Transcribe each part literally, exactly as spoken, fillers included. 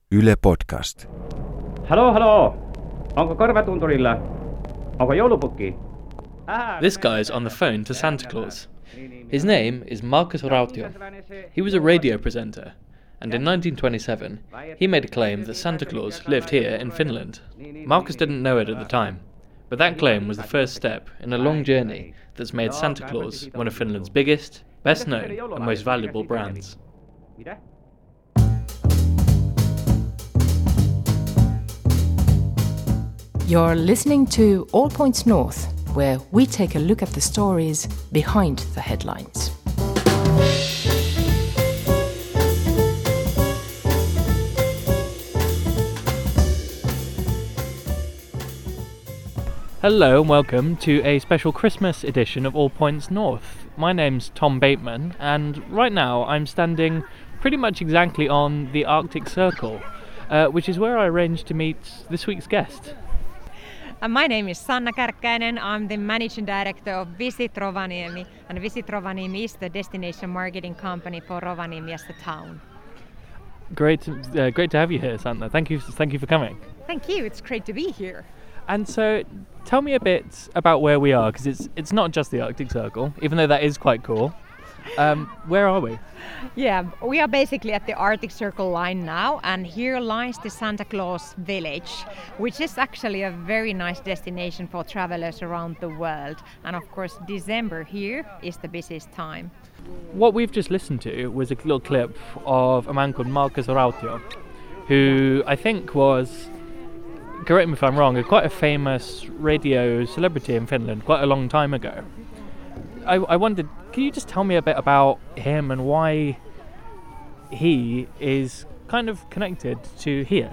Yle Podcast. Halo, halo! Onko korvatunturilla? Onko joulupukki? This guy's on the phone to Santa Claus. His name is Markus Rautio. He was a radio presenter, and in nineteen twenty-seven, he made a claim that Santa Claus lived here in Finland. Markus didn't know it at the time, but that claim was the first step in a long journey that's made Santa Claus one of Finland's biggest, best known, and most valuable brands. You're listening to All Points North, where we take a look at the stories behind the headlines. Hello and welcome to a special Christmas edition of All Points North. My name's Tom Bateman, and right now I'm standing pretty much exactly on the Arctic Circle, uh, which is where I arranged to meet this week's guest. Uh, my name is Sanna Kärkkäinen. I'm the managing director of Visit Rovaniemi, and Visit Rovaniemi is the destination marketing company for Rovaniemi as a town. Great, uh, great to have you here, Sanna. Thank you, thank you for coming. Thank you. It's great to be here. And so, tell me a bit about where we are, because it's it's not just the Arctic Circle, even though that is quite cool. Um, where are we? Yeah, we are basically at the Arctic Circle line now, and here lies the Santa Claus Village, which is actually a very nice destination for travelers around the world. And of course, December here is the busiest time. What we've just listened to was a little clip of a man called Markus Rautio, who I think was, correct me if I'm wrong, a quite a famous radio celebrity in Finland quite a long time ago. I, I wondered, can you just tell me a bit about him and why he is kind of connected to here?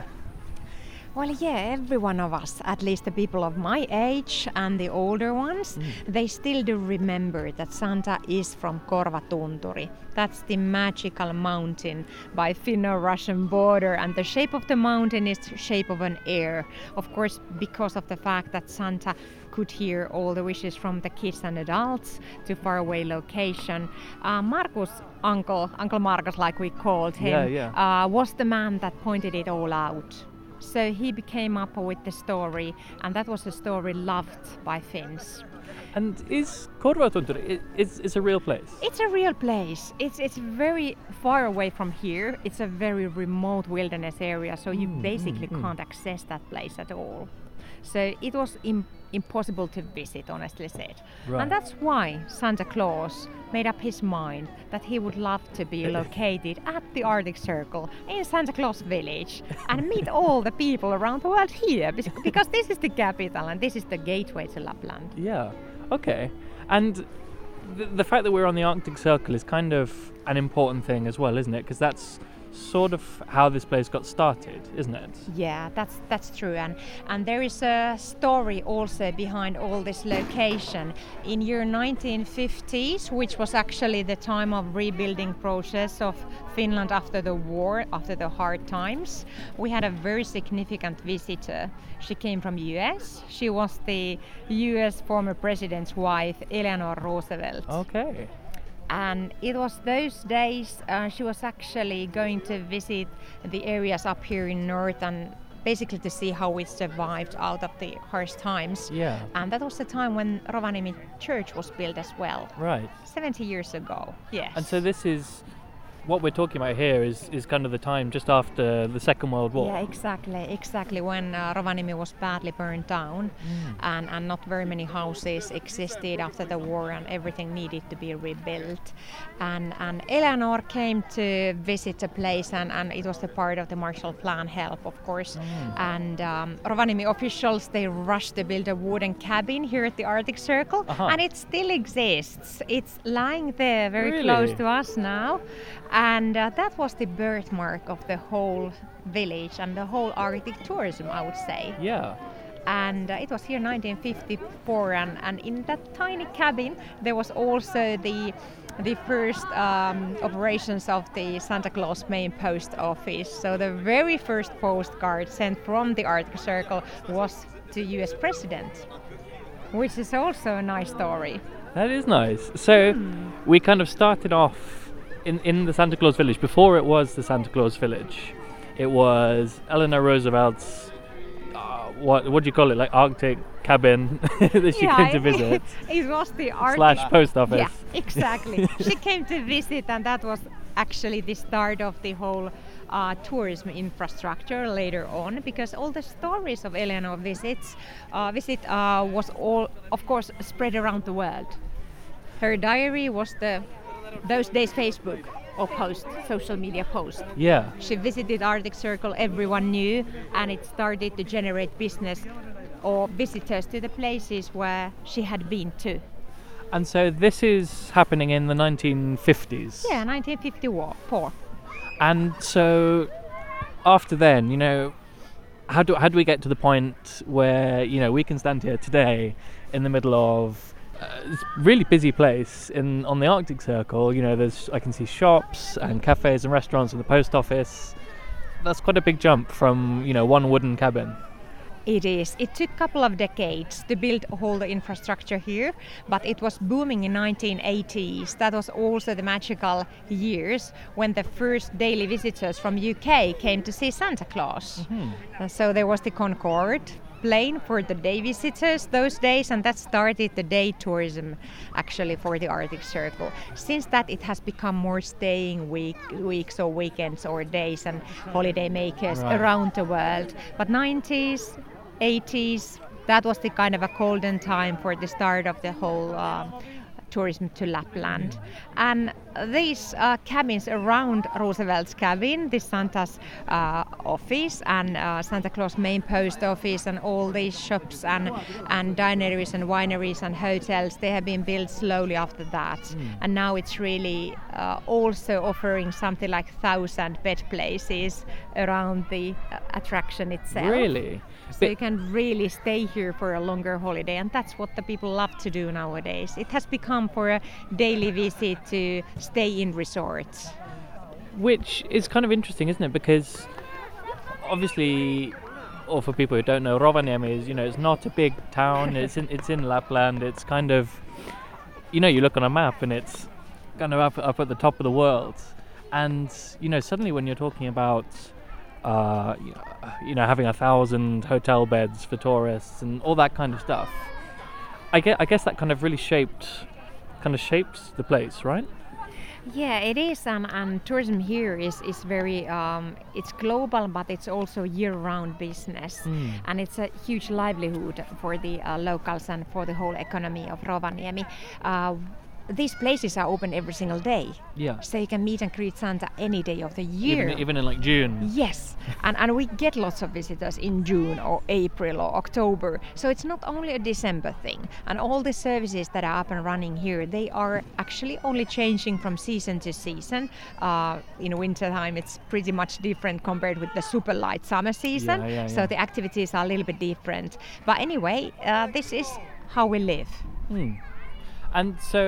Well, yeah, every one of us, at least the people of my age and the older ones, mm. they still do remember that Santa is from Korvatunturi. That's the magical mountain by Finno-Russian border, and the shape of the mountain is the shape of an ear. Of course, because of the fact that Santa could hear all the wishes from the kids and adults to faraway location. Uh, Markus, Uncle, Uncle Markus, like we called him, yeah, yeah. Uh, was the man that pointed it all out. So he became up with the story, and that was a story loved by Finns. And is Korvatunturi, is it's a real place? It's a real place. It's it's very far away from here. It's a very remote wilderness area, so you mm, basically mm, can't mm. access that place at all. So it was im- impossible to visit, honestly said. Right. And that's why Santa Claus made up his mind that he would love to be located at the Arctic Circle in Santa Claus Village and meet all the people around the world here, because this is the capital and this is the gateway to Lapland. Yeah, okay. And th- the fact that we're on the Arctic Circle is kind of an important thing as well, isn't it? Because that's sort of how this place got started, isn't it? Yeah, that's that's true, and and there is a story also behind all this location. In year nineteen fifties, which was actually the time of rebuilding process of Finland after the war, after the hard times, we had a very significant visitor. She came from U S. She was the U S former president's wife, Eleanor Roosevelt. Okay. And it was those days uh, she was actually going to visit the areas up here in north and basically to see how we survived out of the harsh times. Yeah. And that was the time when Rovaniemi Church was built as well. Right. seventy years ago, yes. And so this is, what we're talking about here is, is kind of the time just after the Second World War. Yeah, exactly, exactly, when uh, Rovaniemi was badly burned down mm. and, and not very many houses existed after the war and everything needed to be rebuilt. And, and Eleanor came to visit the place, and, and it was the part of the Marshall Plan help, of course. Mm. And um, Rovaniemi officials, they rushed to build a wooden cabin here at the Arctic Circle, uh-huh. and it still exists. It's lying there very really? close to us now. And uh, that was the birthmark of the whole village and the whole Arctic tourism, I would say. Yeah. And uh, it was here nineteen fifty-four, and, and in that tiny cabin there was also the the first um, operations of the Santa Claus main post office. So the very first postcard sent from the Arctic Circle was to U S President, which is also a nice story. That is nice. So mm. we kind of started off in, in the Santa Claus Village before it was the Santa Claus Village. it was Eleanor Roosevelt's, uh, what what do you call it, like Arctic cabin that she yeah, came to it- visit. It was the Arctic Slash post office. Yeah, exactly. She came to visit, and that was actually the start of the whole uh, tourism infrastructure later on, because all the stories of Eleanor visits uh, visit uh, was all, of course, spread around the world. Her diary was the those days Facebook or post, social media post. Yeah. She visited Arctic Circle, everyone knew, and it started to generate business or visitors to the places where she had been to. And so this is happening in the nineteen fifties. Yeah, nineteen fifty-four. And so after then, you know, how do how do we get to the point where, you know, we can stand here today in the middle of uh, this really busy place in on the Arctic Circle? You know, there's I can see shops and cafes and restaurants and the post office. That's quite a big jump from, you know, one wooden cabin. It is. It took a couple of decades to build all the infrastructure here, but it was booming in nineteen eighties. That was also the magical years when the first daily visitors from U K came to see Santa Claus. Mm-hmm. Uh, so there was the Concorde plane for the day visitors those days, and that started the day tourism actually for the Arctic Circle. Since that, it has become more staying week, weeks or weekends or days and holiday makers Right. around the world. But nineties, eighties, that was the kind of a golden time for the start of the whole um, tourism to Lapland. And these uh, cabins around Roosevelt's cabin, the Santa's uh, office and uh, Santa Claus main post office and all these shops and, and dineries and wineries and hotels, they have been built slowly after that. Mm. And now it's really uh, also offering something like thousand bed places around the uh, attraction itself. Really? So you can really stay here for a longer holiday, and that's what the people love to do nowadays. It has become for a daily visit to stay in resorts. Which is kind of interesting, isn't it? Because obviously, or for people who don't know, Rovaniemi is, you know, it's not a big town. It's in it's in Lapland. It's kind of, you know, you look on a map and it's kind of up up at the top of the world. And you know, suddenly when you're talking about Uh, you know, having a thousand hotel beds for tourists and all that kind of stuff, I guess, I guess that kind of really shaped, kind of shapes the place, right? Yeah, it is, and, and tourism here is is very, um, it's global, but it's also year-round business, Mm. and it's a huge livelihood for the uh, locals and for the whole economy of Rovaniemi. Uh, These places are open every single day, Yeah. so you can meet and greet Santa any day of the year. Even, even in like June. Yes, and, and we get lots of visitors in June or April or October. So it's not only a December thing. And all the services that are up and running here, they are actually only changing from season to season. Uh, in wintertime, it's pretty much different compared with the super light summer season. Yeah, yeah, so yeah. the activities are a little bit different. But anyway, uh, this is how we live. Hmm. And so,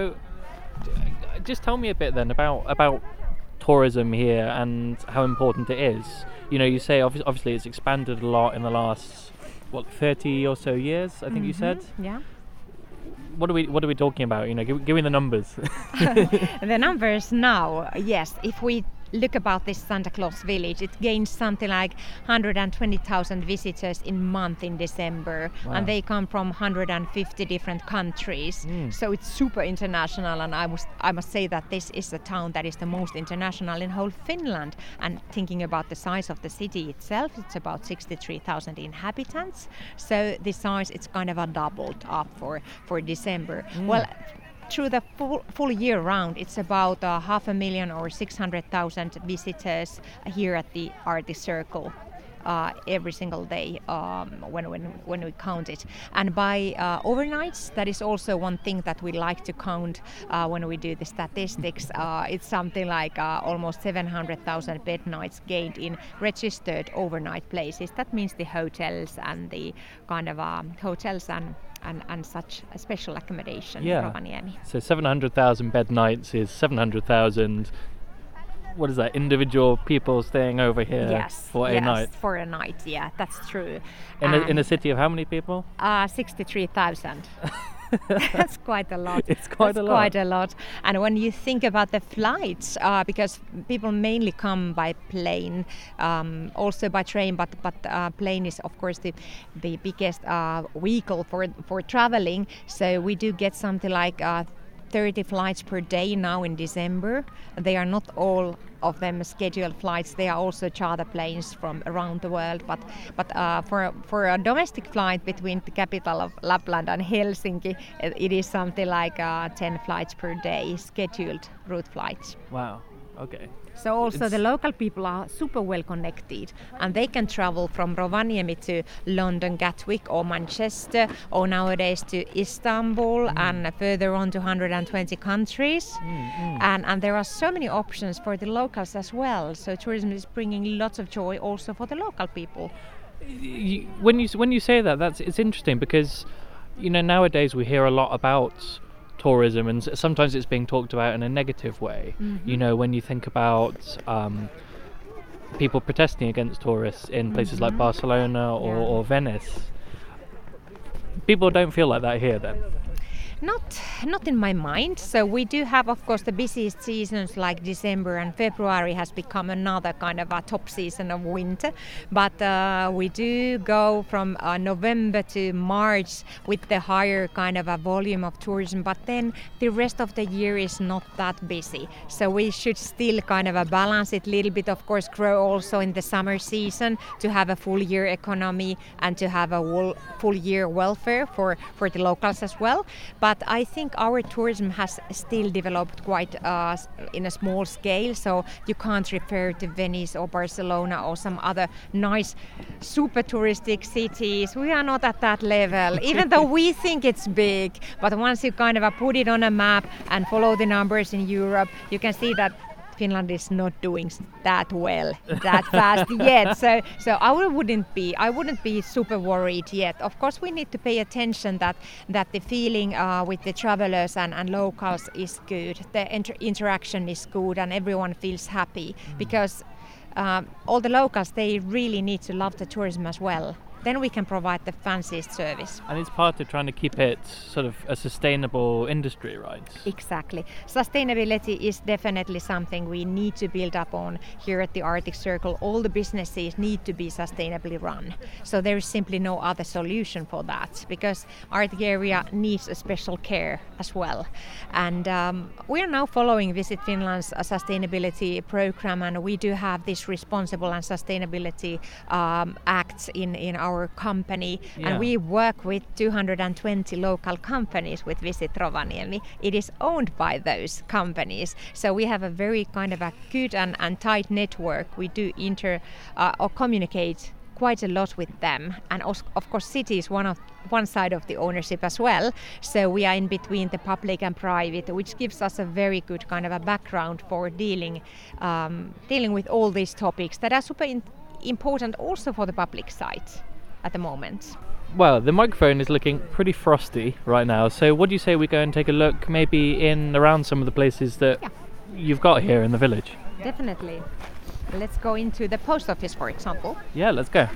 d- just tell me a bit then about about tourism here and how important it is. You know, you say obvi- obviously it's expanded a lot in the last what thirty or so years. I think you said. Yeah. What are we What are we talking about? You know, give, give me the numbers. The numbers now, yes, if we look about this Santa Claus village, it gains something like one hundred twenty thousand visitors in month in December. Wow. And they come from one hundred fifty different countries. Mm. So it's super international, and I must, I must say that this is the town that is the most international in whole Finland. And thinking about the size of the city itself, it's about sixty-three thousand inhabitants. So the size, it's kind of a doubled up for, for December. Mm. Well, through the full, full year round, it's about uh, half a million or six hundred thousand visitors here at the Arctic Circle uh, every single day um, when, when, when we count it. And by uh, overnights, that is also one thing that we like to count uh, when we do the statistics. Uh, it's something like uh, almost seven hundred thousand bed nights gained in registered overnight places. That means the hotels and the kind of um, hotels and And, and such a special accommodation Yeah. in Rovaniemi. So seven hundred thousand bed nights is seven hundred thousand. What is that? Individual people staying over here Yes, for a yes, night. for a night, yeah, that's true. In a, in a And, city of how many people? uh, sixty-three thousand. That's quite a lot. It's quite That's a lot. quite a lot. And when you think about the flights, uh, because people mainly come by plane, um, also by train, but but uh, plane is of course the the biggest uh, vehicle for for traveling. So we do get something like uh, thirty flights per day now in December. They are not all of them scheduled flights. They are also charter planes from around the world. But but uh, for for a domestic flight between the capital of Lapland and Helsinki, it, it is something like uh, ten flights per day, scheduled route flights. Wow. Okay. So also It's- the local people are super well connected, and they can travel from Rovaniemi to London, Gatwick or Manchester, or nowadays to Istanbul and further on to one hundred twenty countries. And, and there are so many options for the locals as well. So tourism is bringing lots of joy also for the local people. You, when you s- when you say that, that's it's interesting because, you know, nowadays we hear a lot about tourism, and s- sometimes it's being talked about in a negative way. You know, when you think about um, people protesting against tourists in places like Barcelona or, Yeah. or Venice, people don't feel like that here. Then, Not, not in my mind. So we do have, of course, the busiest seasons like December and February has become another kind of a top season of winter. But uh, we do go from uh, November to March with the higher kind of a volume of tourism. But then the rest of the year is not that busy. So we should still kind of a balance it a little bit. Of course, grow also in the summer season to have a full year economy and to have a whole, full year welfare for, for the locals as well. But But I think our tourism has still developed quite uh, s- in a small scale, so you can't refer to Venice or Barcelona or some other nice super touristic cities. We are not at that level, even though we think it's big. But once you kind of uh, put it on a map and follow the numbers in Europe, you can see that Finland is not doing s- that well, that fast yet. So, so I would- wouldn't be, I wouldn't be super worried yet. Of course, we need to pay attention that that the feeling uh, with the travelers and, and locals is good. The inter- interaction is good, and everyone feels happy because um, all the locals, they really need to love the tourism as well. Then we can provide the fanciest service. and it's part of trying to keep it sort of a sustainable industry, right? Exactly. Sustainability is definitely something we need to build up on here at the Arctic Circle. All the businesses need to be sustainably run. So there is simply no other solution for that because Arctic area needs a special care as well. And um, we are now following Visit Finland's uh, sustainability program, and we do have this responsible and sustainability um, acts in, in our company. Yeah. And we work with two hundred twenty local companies with Visit Rovaniemi. It is owned by those companies. So we have a very kind of a good and, and tight network. We do inter uh, or communicate quite a lot with them. And os- of course city is one of one side of the ownership as well. So we are in between the public and private, which gives us a very good kind of a background for dealing um, dealing with all these topics that are super in- important also for the public side at the moment. Well, the microphone is looking pretty frosty right now. So, what do you say we go and take a look, maybe in around some of the places that Yeah. you've got here in the village? Definitely. Let's go into the post office, for example. Yeah, let's go.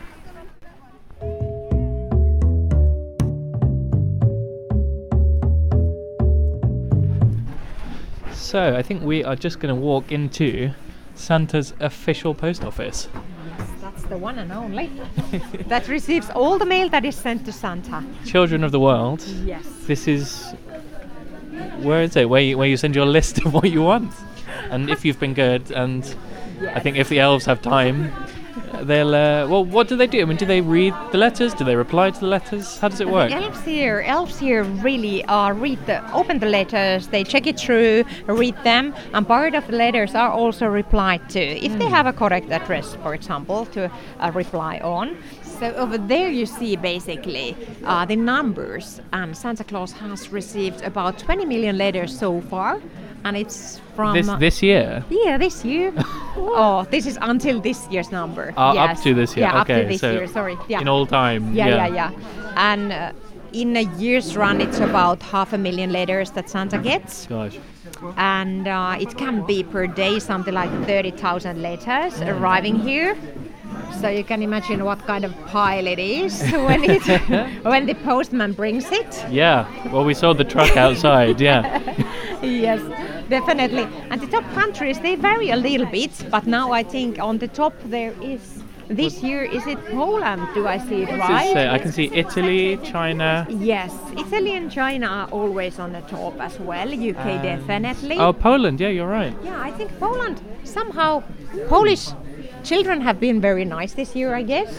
So, I think we are just going to walk into Santa's official post office. That's the one and only. That receives all the mail that is sent to Santa. Children of the World. Yes. This is where is it? Where you, where you send your list of what you want, and if you've been good, and I think if the elves have time, they'll. Uh, well, what do they do? I mean, do they read the letters? Do they reply to the letters? How does it work? Elves here, elves here really uh, read the, open the letters, they check it through, read them, and part of the letters are also replied to if they have a correct address, for example, to uh, reply on. So over there you see basically uh, the numbers, and Santa Claus has received about twenty million letters so far, and it's from This this year. yeah, this year. Oh, this is until this year's number. Uh, yes. Up to this year. Yeah, okay, up to this so year. Sorry. Yeah. in all time. Yeah, yeah, yeah. And uh, in a year's run, it's about half a million letters that Santa gets. Gosh. And uh, it can be per day something like thirty thousand letters arriving here. so you can imagine what kind of pile it is when it when the postman brings it. Yeah, well, we saw the truck outside, yeah. Yes, definitely. And the top countries, they vary a little bit, but now I think on the top there is, this year, is it Poland? Do I see it What's right? it say? I can see Italy, China. Yes, Italy and China are always on the top as well. U K Um, definitely. Oh, Poland, yeah, you're right. Yeah, I think Poland, somehow, Polish children have been very nice this year, I guess.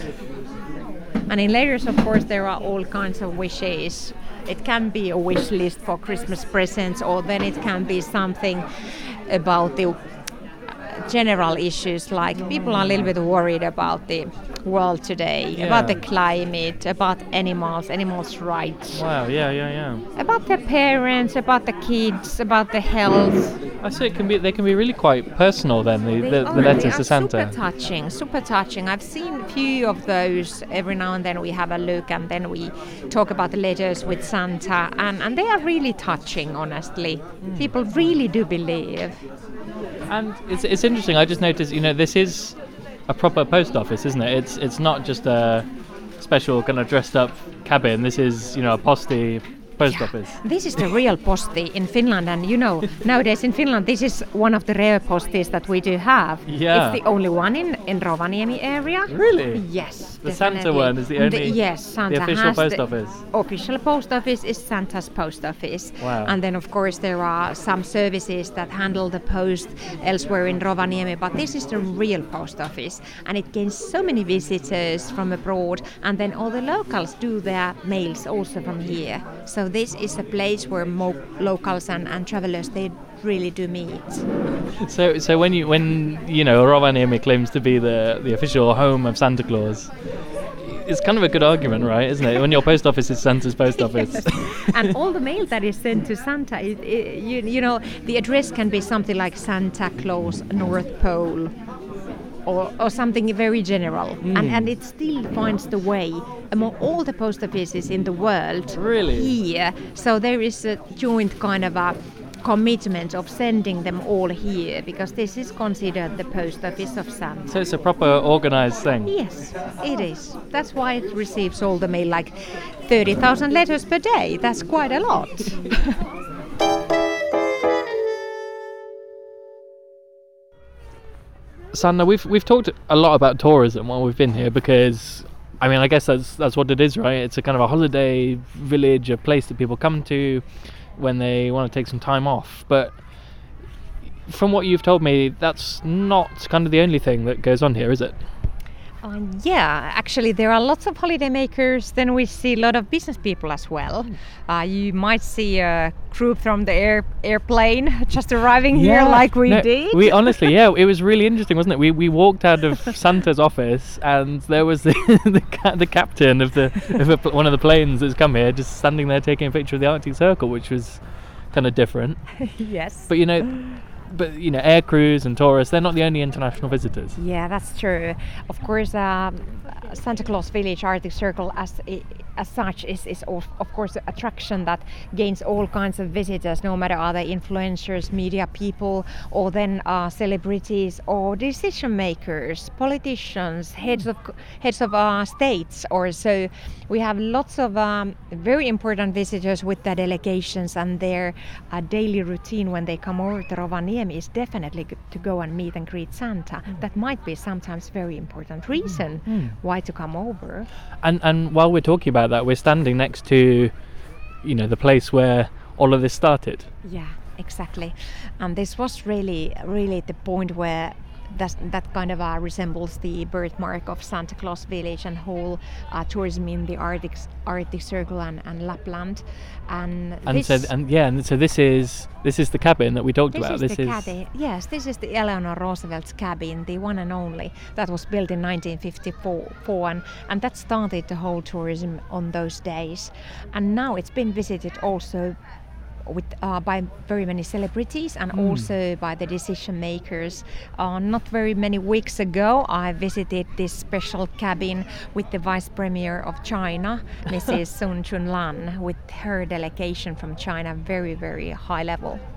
And in letters, of course, there are all kinds of wishes. It can be a wish list for Christmas presents, or then it can be something about the general issues, like people are a little bit worried about the world today, Yeah. about the climate, about animals, animals' rights, Wow, yeah, yeah, yeah. about the parents, about the kids, about the health. I see it can be, they can be really quite personal then, the, They the, are- the they letters are to Santa. Super touching, super touching. I've seen a few of those. Every now and then we have a look, and then we talk about the letters with Santa, and, and they are really touching, honestly. Mm. People really do believe. And it's, it's interesting, I just noticed, you know, this is a proper post office, isn't it? It's it's not just a special kind of dressed up cabin. This is, you know, a postie post Yeah. office. This is the real posti in Finland, and you know, nowadays in Finland, this is one of the rare posties that we do have. Yeah. It's the only one in, in Rovaniemi area. Really? Yes. The Santa definitely. one is the only- yes, Santa the official has post the office. Official post office is Santa's post office. Wow. And then, of course, there are some services that handle the post elsewhere in Rovaniemi, but this is the real post office, and it gains so many visitors from abroad, and then all the locals do their mails also from here. So this is a place where mo- locals and, and travelers, they really do meet. So so when you when you know Rovaniemi claims to be the the official home of Santa Claus, it's kind of a good argument, right? Isn't it? When your post office is Santa's post office. And all the mail that is sent to Santa, it, it, you, you know, the address can be something like Santa Claus North Pole, or, or something very general, and, and it still finds the way among all the post offices in the world. Really? Here, so there is a joint kind of a commitment of sending them all here, because this is considered the post office of Santa. So it's a proper organised thing. Yes, it is. That's why it receives all the mail, like thirty thousand letters per day. That's quite a lot. Sanna, we've we've talked a lot about tourism while we've been here because, I mean, I guess that's that's what it is, right? It's a kind of a holiday village, a place that people come to when they want to take some time off. But from what you've told me, that's not kind of the only thing that goes on here, is it? Uh, yeah, actually there are lots of holiday makers. Then we see a lot of business people as well. Uh, you might see a group from the air, airplane just arriving here like we No, did. We honestly, yeah, it was really interesting, wasn't it? We we walked out of Santa's office and there was the the, ca- the captain of the of a, one of the planes that's come here, just standing there taking a picture of the Arctic Circle, which was kind of different. Yes. But you know, but you know, air crews and tourists, they're not the only international visitors. Yeah, that's true. Of course, um, Santa Claus Village Arctic Circle as as such is, is of, of course an attraction that gains all kinds of visitors, no matter are they influencers, media people, or then uh, celebrities or decision makers, politicians, heads of heads of uh, states, or so. We have lots of um, very important visitors with the delegations, and their uh, daily routine when they come over to Rovaniemi is definitely g- to go and meet and greet Santa. Mm. That might be sometimes very important reason mm. why to come over. And and while we're talking about that, we're standing next to, you know, the place where all of this started. Yeah, exactly. And this was really, really the point where That, that kind of uh, resembles the birthmark of Santa Claus Village and whole uh, tourism in the Arctic Arctic Circle and, and Lapland, and and this, so and yeah, and so this is this is the cabin that we talked this about. Is this the is cabin. Yes, this is the Eleanor Roosevelt's cabin, the one and only, that was built in nineteen fifty-four, and, and that started the whole tourism on those days, and now it's been visited also with uh, by very many celebrities and mm. also by the decision makers. Uh, not very many weeks ago, I visited this special cabin with the Vice Premier of China, Missus Sun Chunlan, with her delegation from China, very, very high level.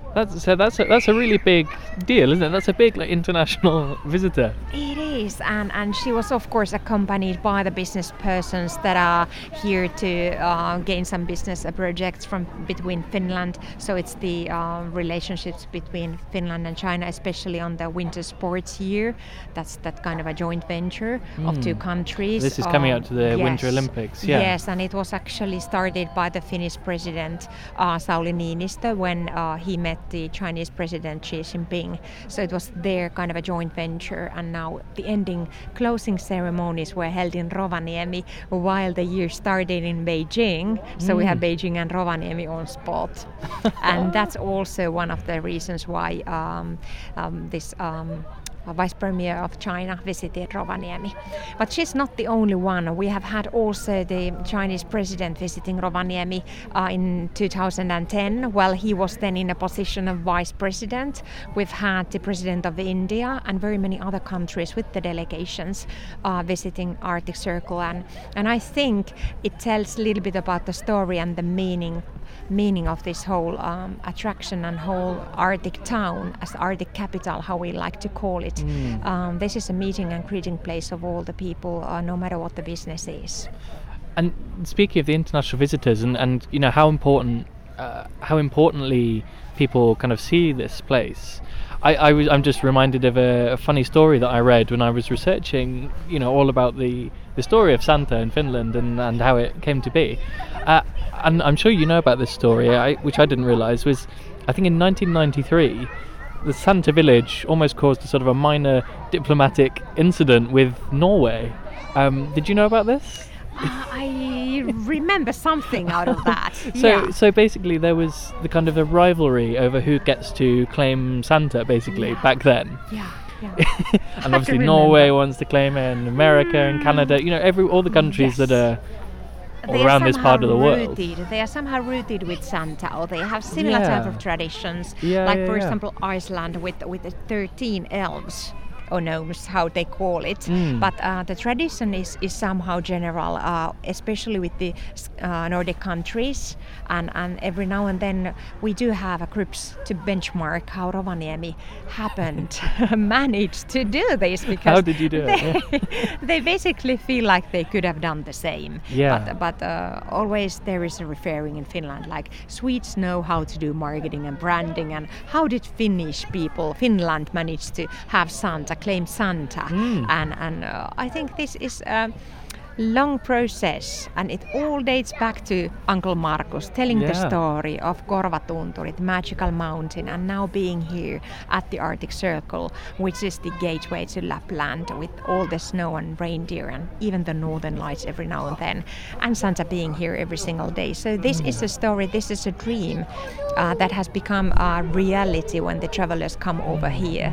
That's so. That's a, that's a really big deal, isn't it? That's a big like international visitor. It is, and, and she was of course accompanied by the business persons that are here to uh, gain some business uh, projects from between Finland. So it's the uh, relationships between Finland and China, especially on the winter sports year. That's that kind of a joint venture mm. of two countries. This is coming um, out to the yes. Winter Olympics. Yeah. Yes, and it was actually started by the Finnish president uh, Sauli Niinistö when uh, he met the Chinese president Xi Jinping. So it was their kind of a joint venture, and now the ending closing ceremonies were held in Rovaniemi while the year started in Beijing. So mm. we have Beijing and Rovaniemi on spot. And that's also one of the reasons why um, um, this um, Vice Premier of China visited Rovaniemi. But she's not the only one. We have had also the Chinese president visiting Rovaniemi uh, in two thousand ten. While he was then in a position of vice president, we've had the president of India and very many other countries with the delegations uh, visiting Arctic Circle. And, and I think it tells a little bit about the story and the meaning meaning of this whole um, attraction and whole Arctic town as Arctic capital, how we like to call it. Mm. Um, this is a meeting and greeting place of all the people, uh, no matter what the business is. And speaking of the international visitors, and, and you know how important, uh, how importantly people kind of see this place. I, I was, I'm just reminded of a, a funny story that I read when I was researching, you know, all about the, the story of Santa in Finland and, and how it came to be. Uh, and I'm sure you know about this story, I, which I didn't realise was, I think in nineteen ninety-three, the Santa village almost caused a sort of a minor diplomatic incident with Norway. Um, did you know about this? Uh, I remember something out of that. so, yeah. so basically, there was the kind of a rivalry over who gets to claim Santa, basically yeah. back then. Yeah, yeah. And obviously, Norway wants to claim it, and America and Canada. You know, every all the countries yes. that are they around are this part of the world. Rooted. They are somehow rooted with Santa, or they have similar yeah. type of traditions. Yeah, like yeah, for yeah. example, Iceland with with the thirteen elves. Or gnomes, how they call it. Mm. But uh, the tradition is, is somehow general, uh, especially with the uh, Nordic countries. And, and every now and then we do have a groups to benchmark how Rovaniemi happened, managed to do this. Because how did you do they, it? Yeah. They basically feel like they could have done the same. Yeah. But, but uh, always there is a referring in Finland, like Swedes know how to do marketing and branding, and how did Finnish people, Finland manage to have Santa, claim Santa. Mm. And, and uh, I think this is a long process, and it all dates back to Uncle Markus telling yeah. the story of Korvatunturi, the magical mountain, and now being here at the Arctic Circle, which is the gateway to Lapland with all the snow and reindeer and even the northern lights every now and then, and Santa being here every single day. So this is a story, this is a dream uh, that has become a reality when the travelers come over here.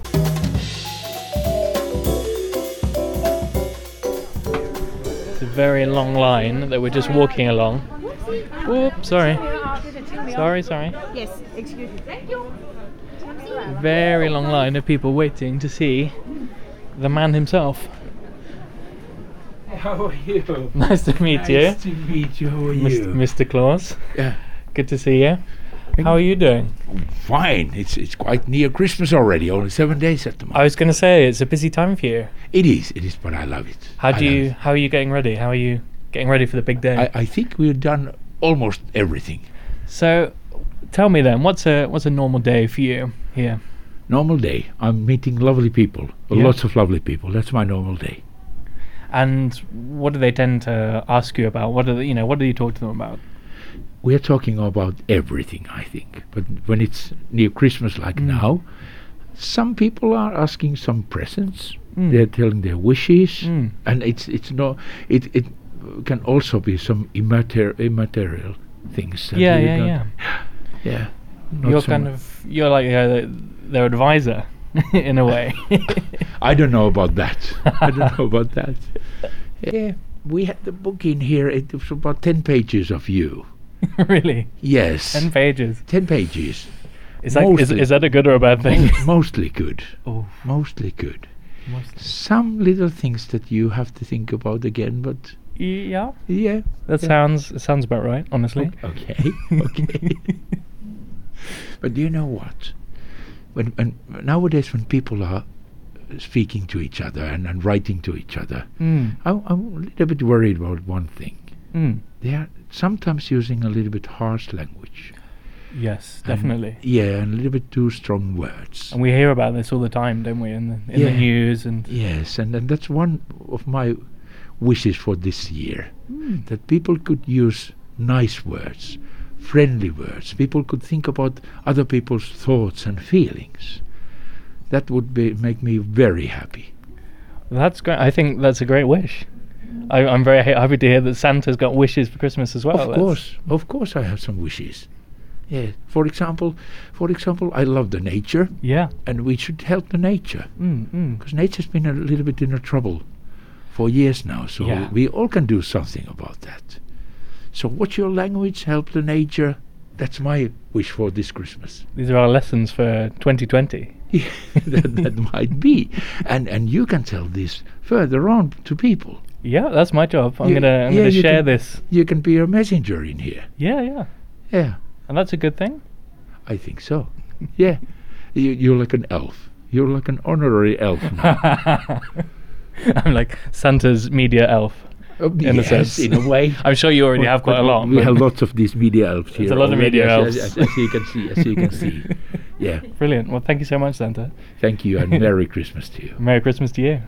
Very long line that we're just walking along. Oops, sorry. Sorry, sorry. Yes, excuse me. Thank you. Very long line of people waiting to see the man himself. How are you? Nice to meet nice you. Nice to meet you. How are you? Mister Claus. Yeah. Good to see you. How are you doing? Fine. It's it's quite near Christmas already. Only seven days at the moment. I was going to say it's a busy time for you. It is. It is. But I love it. How do I you? How are you getting ready? How are you getting ready for the big day? I, I think we've done almost everything. So, tell me then, what's a what's a normal day for you here? Normal day. I'm meeting lovely people. Yeah. Lots of lovely people. That's my normal day. And what do they tend to ask you about? What do they, you know? What do you talk to them about? We're talking about everything, I think. But when it's near Christmas like mm. now, some people are asking some presents. Mm. They're telling their wishes, mm. and it's it's no it it can also be some immater- immaterial things. That Yeah, you yeah, don't- yeah. Yeah. not You're so kind mu- of you're like uh, their advisor in a way. I don't know about that. I don't know about that. Yeah, we had the book in here. It was about ten pages of you. Really? Yes. Ten pages. Ten pages. Is that is, Mostly- is that a good or a bad thing? Mostly good. Oh, Mostly good. mostly. Some little things that you have to think about again, but Yeah. yeah. That Yeah. sounds it sounds about right, honestly. Okay. Okay. But do you know what? When, when nowadays when people are speaking to each other and, and writing to each other, Mm. I, I'm a little bit worried about one thing. Mm. They are sometimes using a little bit harsh language. Yes, And- definitely. yeah, and a little bit too strong words. And we hear about this all the time, don't we? In the in the Yeah. news and. Yes, and, and that's one of my wishes for this year. Mm. That people could use nice words, friendly words. People could think about other people's thoughts and feelings. That would be make me very happy. That's great. I think that's a great wish. I, I'm very ha- happy to hear that Santa's got wishes for Christmas as well. of That's- course, of course, I have some wishes. Yeah. For example, for example, I love the nature, Yeah. and we should help the nature Mm, mm. because nature's been a little bit in a trouble for years now. So Yeah. we all can do something about that. So watch your language, help the nature. That's my wish for this Christmas. These are our lessons for twenty twenty. that, that might be, and and you can tell this further on to people. Yeah, that's my job. I'm You- gonna I'm yeah, gonna you share can- this. You can be a messenger in here. Yeah, yeah. Yeah, And that's a good thing. I think so. Yeah, you, you're like an elf. You're like an honorary elf now. I'm like Santa's media elf. Oh, in a yes, sense. in a way. I'm sure you already But- have quite a but lot. We but- have lots of these media elves here. a lot of already, media as, elves. As, as, as you can see, as you can see. Yeah. Brilliant. Well, thank you so much, Santa. Thank you, and Merry Christmas to you. Merry Christmas to you.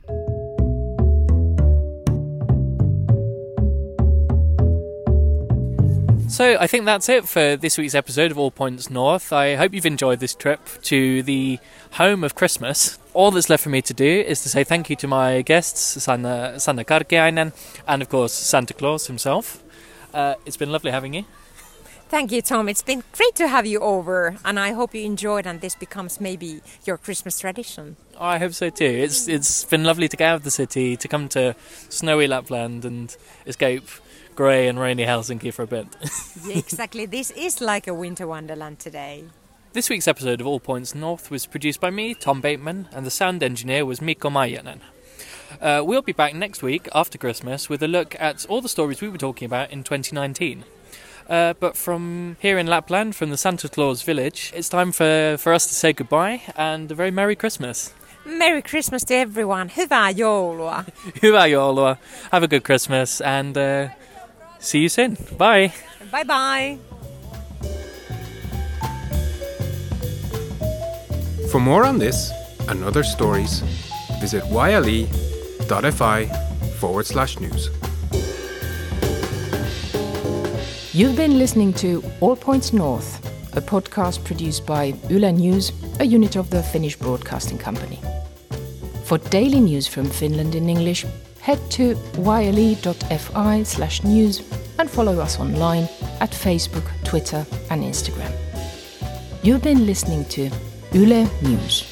So I think that's it for this week's episode of All Points North. I hope you've enjoyed this trip to the home of Christmas. All that's left for me to do is to say thank you to my guests, Sanna, Sanna Karkiainen, and of course Santa Claus himself. Uh, it's been lovely having you. Thank you, Tom. It's been great to have you over, and I hope you enjoyed and this becomes maybe your Christmas tradition. I hope so too. It's it's been lovely to get out of the city, to come to snowy Lapland and escape grey and rainy Helsinki for a bit. Yeah, exactly. This is like a winter wonderland today. This week's episode of All Points North was produced by me, Tom Bateman, and the sound engineer was Mikko Maijanen. Uh, we'll be back next week after Christmas with a look at all the stories we were talking about in twenty nineteen. Uh, but from here in Lapland, from the Santa Claus village, it's time for, for us to say goodbye and a very Merry Christmas. Merry Christmas to everyone. Hyvää joulua. Hyvää joulua, have a good Christmas, and uh, see you soon. Bye! Bye bye. For more on this and other stories, visit yle.fi forward slash news. You've been listening to All Points North, a podcast produced by Yle News, a unit of the Finnish Broadcasting Company. For daily news from Finland in English, head to yle.fi slash news and follow us online at Facebook, Twitter and Instagram. You've been listening to Yle News.